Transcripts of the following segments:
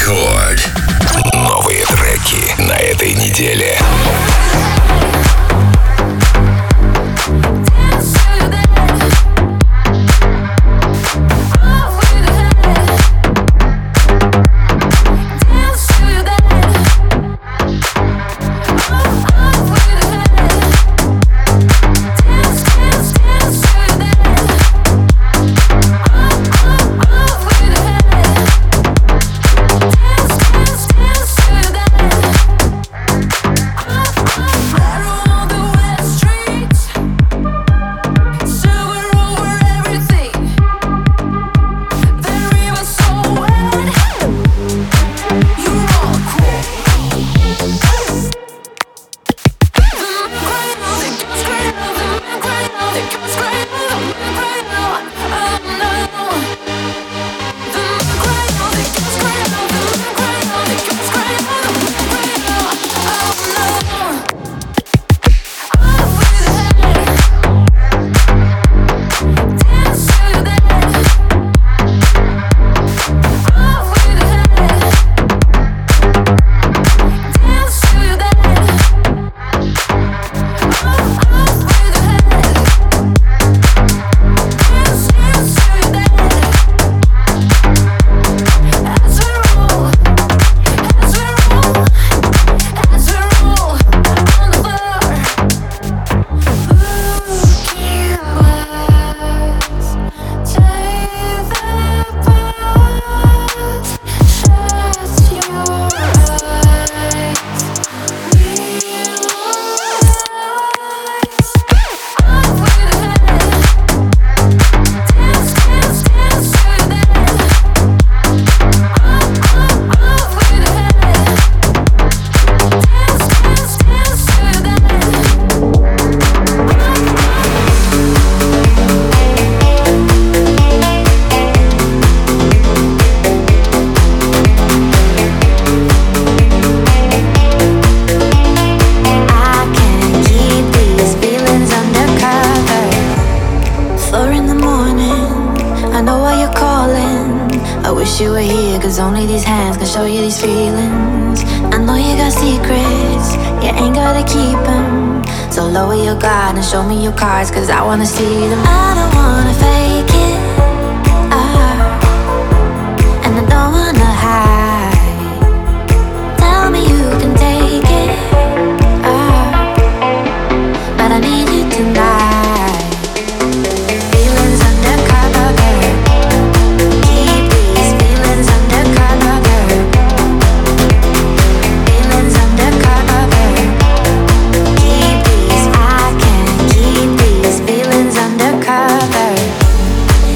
Рекорд. Новые треки на этой неделе. Show me your cards, cause I wanna see them. I don't wanna fake it, and I don't wanna hide. Tell me you can take it, but I need you tonight. Feelings undercover, keep these feelings undercover. Feelings undercover, keep these. I can't keep these feelings undercover.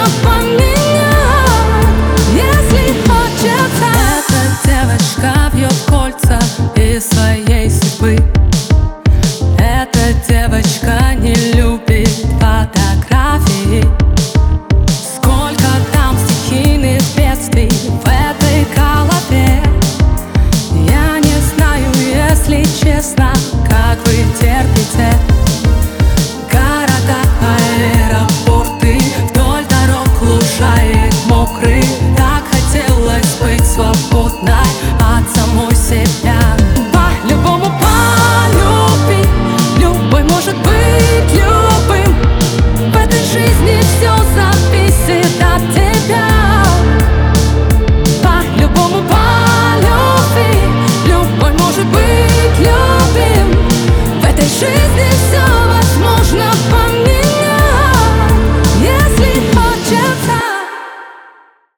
поменять, если хочется. Эта девочка вьет кольца из своей судьбы. Эта девочка не любит фотографии. Сколько там стихийных бедствий в этой голове. Я не знаю, если честно, как вы терпите. Города, аэропорты, вдоль дорог лужаек мокрых. Так хотелось быть свободной от самой себя. По-любому полюбить, любой может быть любым. В этой жизни все